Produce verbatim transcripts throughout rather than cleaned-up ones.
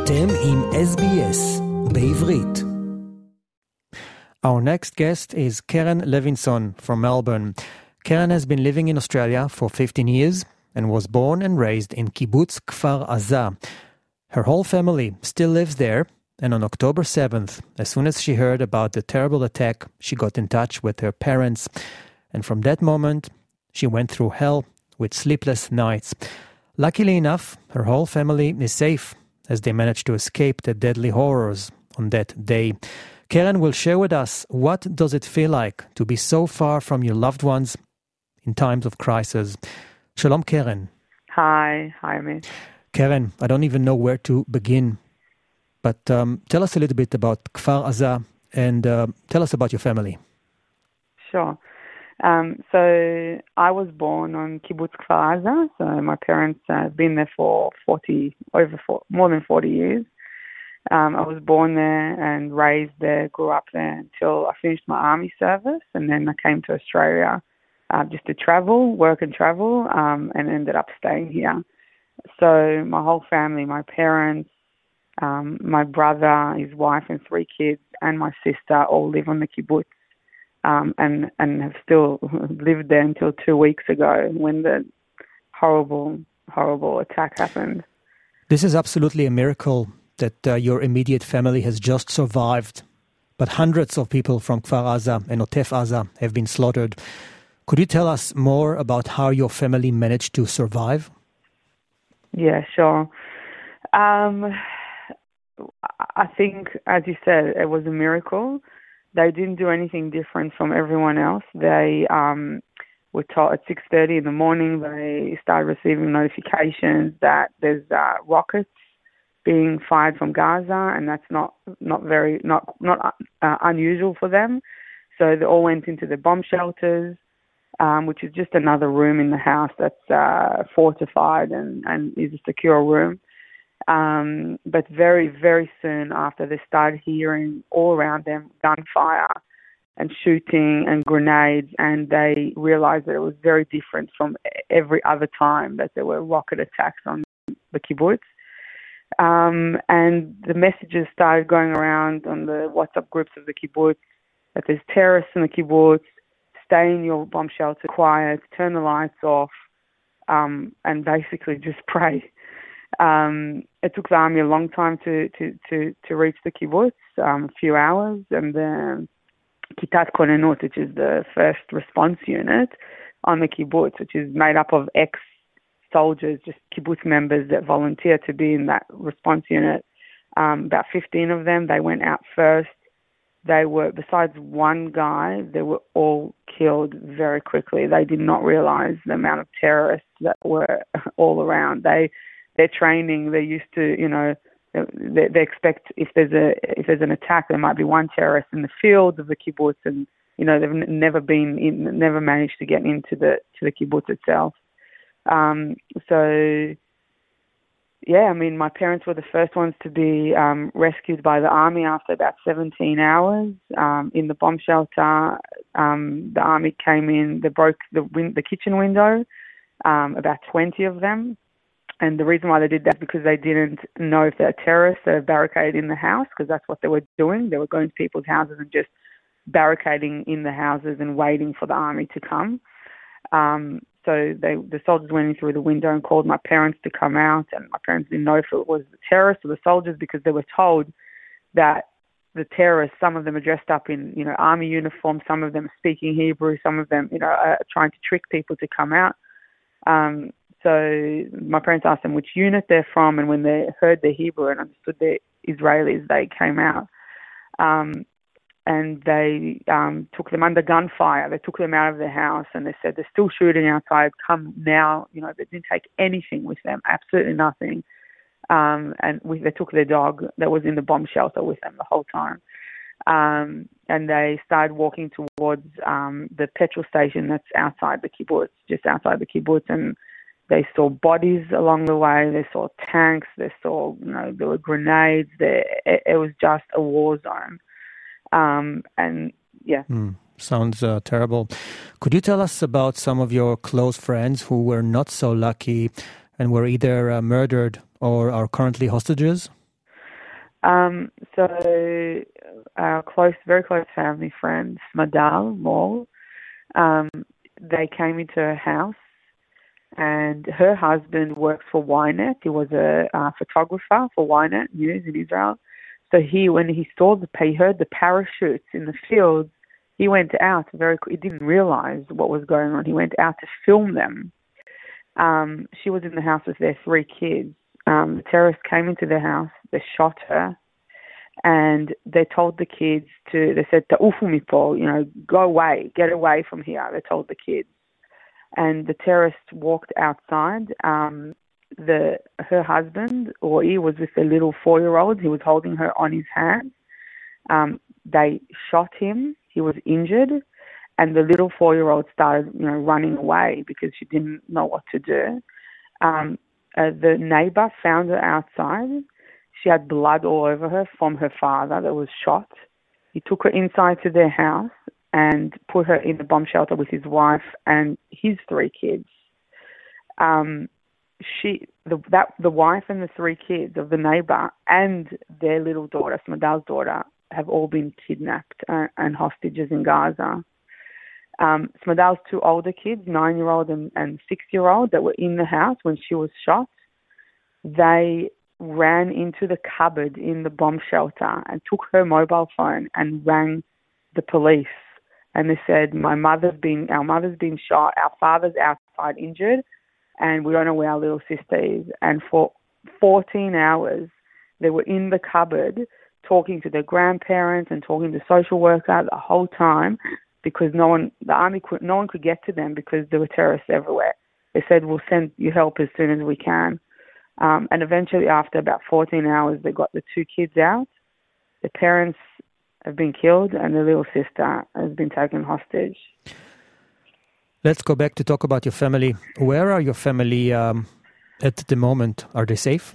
אתם עם S B S בעברית. Our next guest is Keren Levinson from Melbourne. Keren has been living in Australia for fifteen years and was born and raised in Kibbutz Kfar Aza. Her whole family still lives there, and on October seventh, as soon as she heard about the terrible attack, she got in touch with her parents. And from that moment, she went through hell with sleepless nights. Luckily enough, her whole family is safe as they managed to escape the deadly horrors on that day. Keren will share with us what does it feel like to be so far from your loved ones in times of crisis. Shalom, Keren. Hi, hi, Amit. Keren, I don't even know where to begin, but um, tell us a little bit about Kfar Aza and uh, tell us about your family. Sure. Um, so I was born on Kibbutz Kfar Aza. So my parents have been there for forty, over four, more than forty years. Um, I was born there and raised there, grew up there until I finished my army service, and then I came to Australia uh, just to travel, work and travel, um, and ended up staying here. So my whole family, my parents, um, my brother, his wife and three kids, and my sister all live on the kibbutz, um, and, and have still lived there until two weeks ago when the horrible, horrible attack happened. This is absolutely a miracle that uh, your immediate family has just survived, but hundreds of people from Kfar Aza and Otef Aza have been slaughtered. Could you tell us more about how your family managed to survive? Yeah, sure. Um, I think, as you said, it was a miracle. They didn't do anything different from everyone else. They um, were told at six thirty in the morning, they started receiving notifications that there's uh, rockets being fired from Gaza, and that's not not very not not uh, unusual for them. So they all went into the bomb shelters, um, which is just another room in the house that's uh, fortified and, and is a secure room. Um, but very, very soon after, they started hearing all around them gunfire and shooting and grenades, and they realized that it was very different from every other time that there were rocket attacks on the kibbutz. Um, and the messages started going around on the WhatsApp groups of the kibbutz that there's terrorists in the kibbutz, stay in your bomb shelter quiet, turn the lights off, um, and basically just pray. Um, it took the army a long time to, to, to, to reach the kibbutz, um, a few hours, and the Kitat Konenut, which is the first response unit on the kibbutz, which is made up of ex soldiers, just kibbutz members that volunteer to be in that response unit. Um, about fifteen of them, they went out first. They were, besides one guy, they were all killed very quickly. They did not realize the amount of terrorists that were all around. They, their training, they're used to, you know, they, they expect if there's a if there's an attack, there might be one terrorist in the fields of the kibbutz, and you know they've n- never been, in, never managed to get into the to the kibbutz itself. Um, so, yeah, I mean, my parents were the first ones to be um, rescued by the army after about seventeen hours um, in the bomb shelter. Um, the army came in, they broke the win- the kitchen window, um, about twenty of them. And the reason why they did that is because they didn't know if they're terrorists that are barricaded in the house, because that's what they were doing. They were going to people's houses and just barricading in the houses and waiting for the army to come. Um, So they, the soldiers went in through the window and called my parents to come out, and my parents didn't know if it was the terrorists or the soldiers, because they were told that the terrorists, some of them are dressed up in, you know, army uniform, some of them are speaking Hebrew, some of them, you know, are trying to trick people to come out. Um, so my parents asked them which unit they're from, and when they heard the Hebrew and understood they're Israelis, they came out. Um, And they um, took them under gunfire. They took them out of their house, and they said, they're still shooting outside. Come now. You know, they didn't take anything with them, absolutely nothing. Um, and we, they took their dog that was in the bomb shelter with them the whole time. Um, and they started walking towards um, the petrol station that's outside the kibbutz, just outside the kibbutz. And they saw bodies along the way. They saw tanks. They saw, you know, there were grenades. There, it, it was just a war zone. Um, and yeah. Mm, sounds uh, terrible. Could you tell us about some of your close friends who were not so lucky and were either uh, murdered or are currently hostages? Um, so, our close, very close family friend, Smadal Mall, um, they came into her house, and her husband works for Ynet. He was a uh, photographer for Ynet News in Israel. So he, when he saw the, he heard the parachutes in the fields, he went out very. He didn't realize what was going on. He went out to film them. Um, she was in the house with their three kids. Um, the terrorists came into their house. They shot her, and they told the kids to. They said, "Ta'ufu mipo," you know, go away, get away from here. They told the kids, and the terrorists walked outside. Um, the her husband, or he was with a little four-year-old. He was holding her on his hand. Um, they shot him. He was injured, and the little four-year-old started, you know, running away because she didn't know what to do. Um, uh, the neighbor found her outside. She had blood all over her from her father that was shot. He took her inside to their house and put her in the bomb shelter with his wife and his three kids. Um, she, the, that, the wife and the three kids of the neighbor and their little daughter, Smadal's daughter, have all been kidnapped uh, and hostages in Gaza. Um, Smadal's two older kids, nine-year-old and, and six-year-old, that were in the house when she was shot, they ran into the cupboard in the bomb shelter and took her mobile phone and rang the police. And they said, "My mother's been, our mother's been shot, our father's outside injured, and we don't know where our little sister is." And for fourteen hours, they were in the cupboard talking to their grandparents and talking to the social worker the whole time, because no one, the army, could, no one could get to them because there were terrorists everywhere. They said, "We'll send you help as soon as we can." Um, and eventually, after about fourteen hours, they got the two kids out. The parents have been killed, and the little sister has been taken hostage. Let's go back to talk about your family. Where are your family um, at the moment? Are they safe?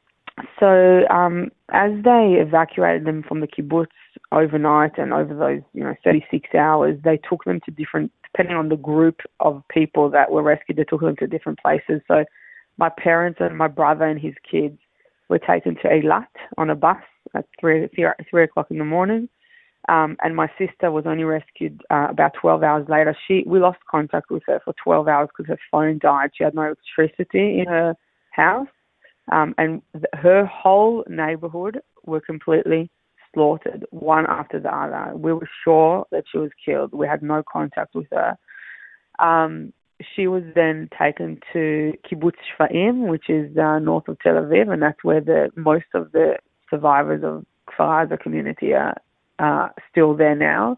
So, um, as they evacuated them from the kibbutz overnight and over those, you know, thirty-six hours, they took them to different, depending on the group of people that were rescued, they took them to different places. So, my parents and my brother and his kids were taken to Eilat on a bus at three, three, three o'clock in the morning. Um, and my sister was only rescued uh, about twelve hours later. She, we lost contact with her for twelve hours because her phone died. She had no electricity in her house. Um, and th- her whole neighborhood were completely slaughtered, one after the other. We were sure that she was killed. We had no contact with her. Um, she was then taken to Kibbutz Shfaim, which is uh, north of Tel Aviv, and that's where the most of the survivors of Kfar Aza community are uh, still there now.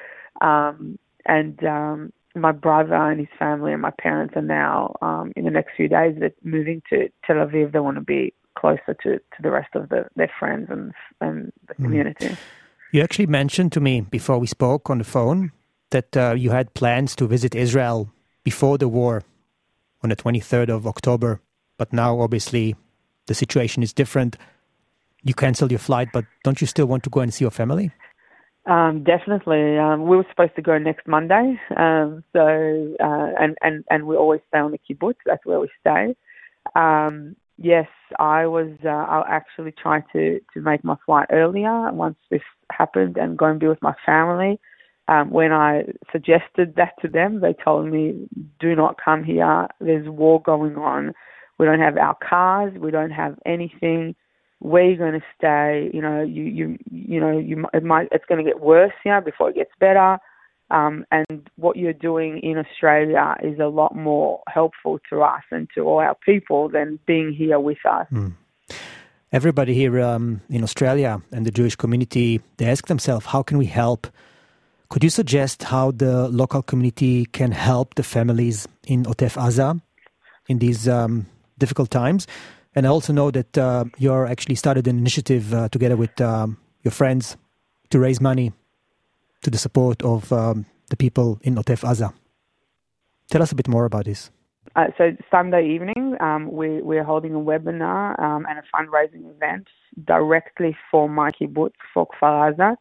Um, and um, my brother and his family and my parents are now, um, in the next few days, they're moving to Tel Aviv. They want to be closer to, to the rest of the, their friends and, and the community. Mm. You actually mentioned to me before we spoke on the phone that uh, you had plans to visit Israel before the war on the twenty-third of October. But now, obviously, the situation is different. You canceled your flight, but don't you still want to go and see your family? Um, definitely. Um, we were supposed to go next Monday. Um, so, uh, and, and, and we always stay on the kibbutz. That's where we stay. Um, yes, I was, uh, I'll actually try to, to make my flight earlier once this happened and go and be with my family. Um, when I suggested that to them, they told me, "Do not come here. There's war going on. We don't have our cars. We don't have anything. Where you're going to stay, you know, you, you, you know, you, it might, it's going to get worse here before it gets better. Um, and what you're doing in Australia is a lot more helpful to us and to all our people than being here with us." Mm. Everybody here um, in Australia and the Jewish community, they ask themselves, how can we help? Could you suggest how the local community can help the families in Otef Aza in these um, difficult times? And I also know that uh, you actually started an initiative uh, together with um, your friends to raise money to the support of um, the people in Otef Aza. Tell us a bit more about this. Uh, so Sunday evening, um, we, we're holding a webinar um, and a fundraising event directly for my kibbutz, for Kfar Aza.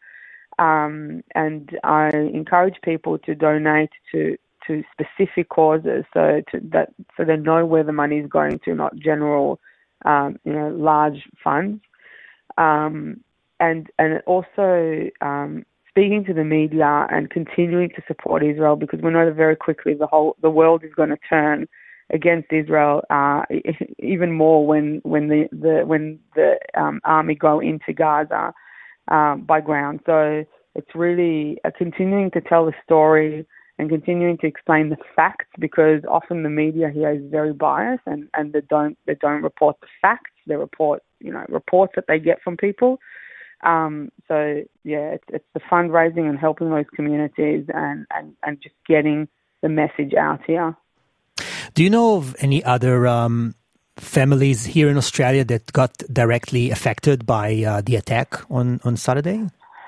Um, and I encourage people to donate to, to specific causes, so to that so they know where the money is going to, not general, um, you know, large funds. Um, and and also um, speaking to the media and continuing to support Israel, because we know that very quickly the whole the world is going to turn against Israel, uh, even more when when the, the when the um, army go into Gaza um, by ground. So it's really uh, continuing to tell the story and continuing to explain the facts, because often the media here is very biased and, and they don't they don't report the facts. They report you know reports that they get from people. Um, so yeah, it's it's the fundraising and helping those communities and, and, and just getting the message out here. Do you know of any other um, families here in Australia that got directly affected by uh, the attack on, on Saturday?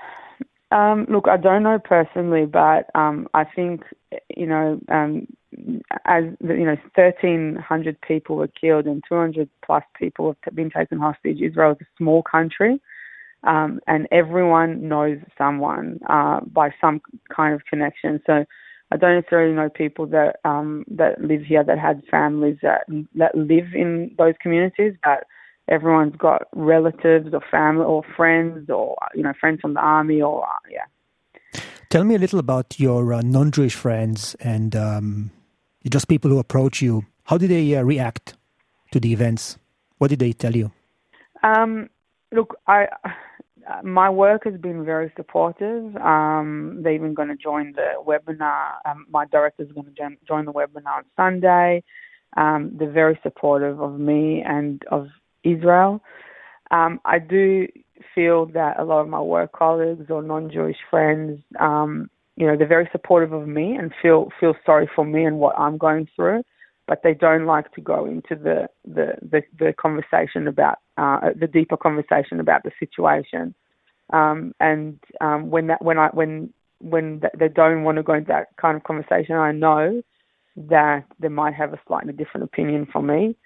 Um, look, I don't know personally, but um, I think, you know, um, as you know, thirteen hundred people were killed and two hundred plus people have been taken hostage. Israel is a small country, um, and everyone knows someone uh, by some kind of connection. So I don't necessarily know people that um, that live here that had families that that live in those communities, but everyone's got relatives or family or friends or, you know, friends from the army or, uh, yeah. Tell me a little about your uh, non-Jewish friends and um, just people who approach you. How did they uh, react to the events? What did they tell you? Um, look, I, my work has been very supportive. Um, they're even going to join the webinar. Um, my director's going to join the webinar on Sunday. Um, they're very supportive of me and of Israel. Um, I do feel that a lot of my work colleagues or non-Jewish friends, um, you know, they're very supportive of me and feel feel sorry for me and what I'm going through, but they don't like to go into the the the, the conversation about uh, the deeper conversation about the situation. Um, and um, when that when I when when they don't want to go into that kind of conversation, I know that they might have a slightly different opinion from me.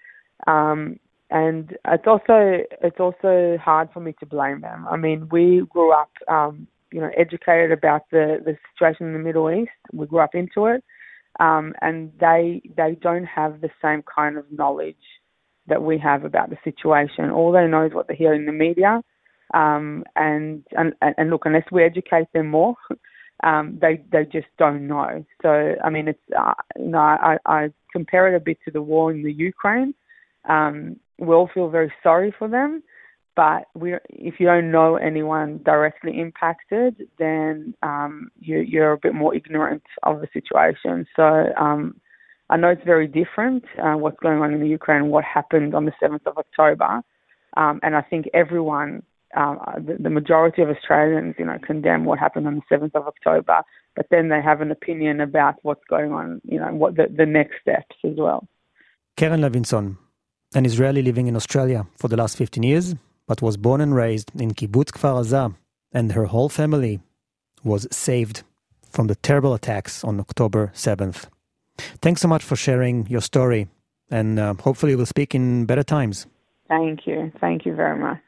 Um, And it's also it's also hard for me to blame them. I mean, we grew up, um, you know, educated about the, the situation in the Middle East. We grew up into it, um, and they they don't have the same kind of knowledge that we have about the situation. All they know is what they hear in the media, um, and, and and look, unless we educate them more, um, they they just don't know. So I mean, it's uh, you know, I, I compare it a bit to the war in the Ukraine. Um, we all feel very sorry for them, but we, if you don't know anyone directly impacted, then um, you, you're a bit more ignorant of the situation. So um, I know it's very different, uh, what's going on in the Ukraine, what happened on the seventh of October, um, and I think everyone, uh, the, the majority of Australians, you know, condemn what happened on the seventh of October, but then they have an opinion about what's going on, you know, what the, the next steps as well. Keren Levinson, an Israeli living in Australia for the last fifteen years, but was born and raised in Kibbutz Kfar Aza, and her whole family was saved from the terrible attacks on October seventh. Thanks so much for sharing your story, and uh, hopefully we'll speak in better times. Thank you. Thank you very much.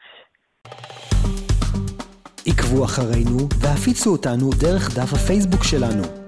עקבו אחרינו והפיצו אותנו דרך דף הפייסבוק שלנו.